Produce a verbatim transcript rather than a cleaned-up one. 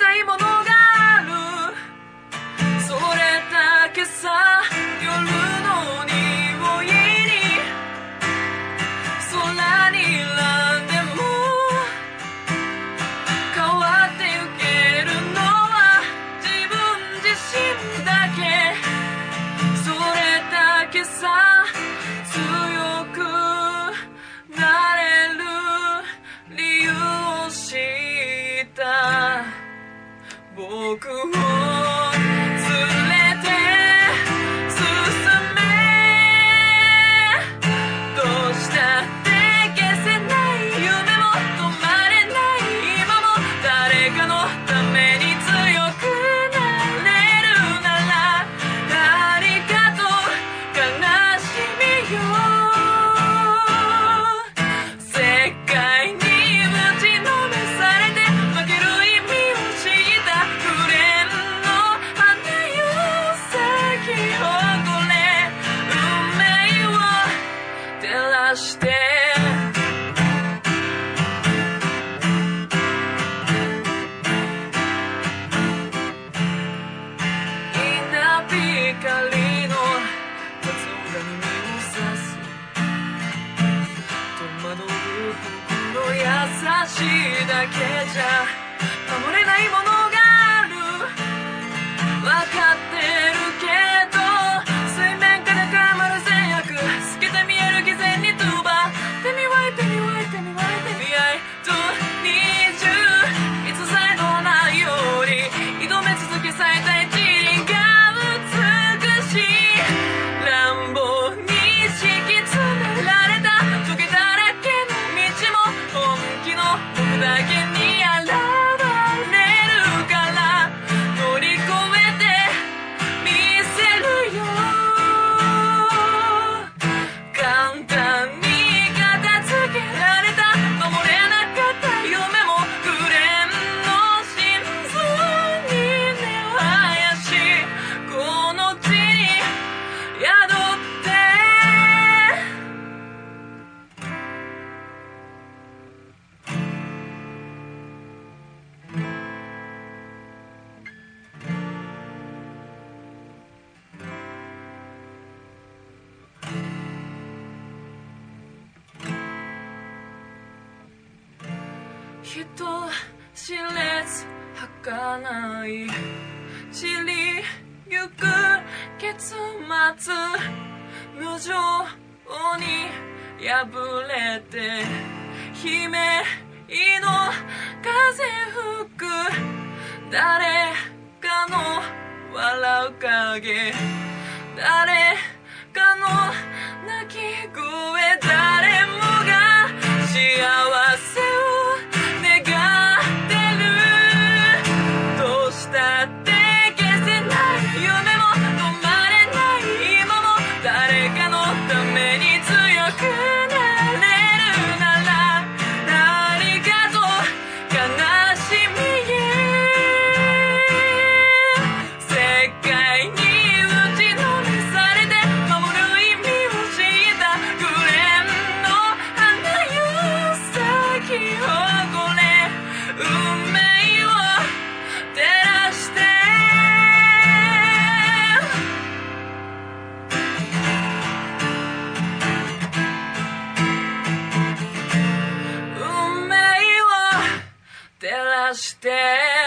ないものがある。それだけさ、夜の匂いに空にらんでも変わってゆけるのは自分自身だけ。それだけさ、強くなれる理由を知った僕をだけじゃ守れないものがある。分かってるけど水面からかまる善悪透けて見える偽善に飛ば手に湧いてに湧いてに湧いて見合いと二重いつさえのないように挑め続け咲いた一輪が美しい乱暴に敷き詰められたトゲだらけの道も本気の僕だけに現れるから乗り越えてみせるよ。簡単に片付けられた守れなかった夢も紅蓮の心臓に根を生やしこの地に宿って人知れず儚い散りゆく結末無情に破れて悲鳴の風吹く誰かの笑う影誰かの泣き声誰もが幸せを願ってる。どうしたって消せない夢も止まれない今も誰かのために強くなれるならありがとう悲しみへ世界に打ちのめされて守る意味を知った紅蓮の花よ咲き誇れ運命を照らして運命を照らして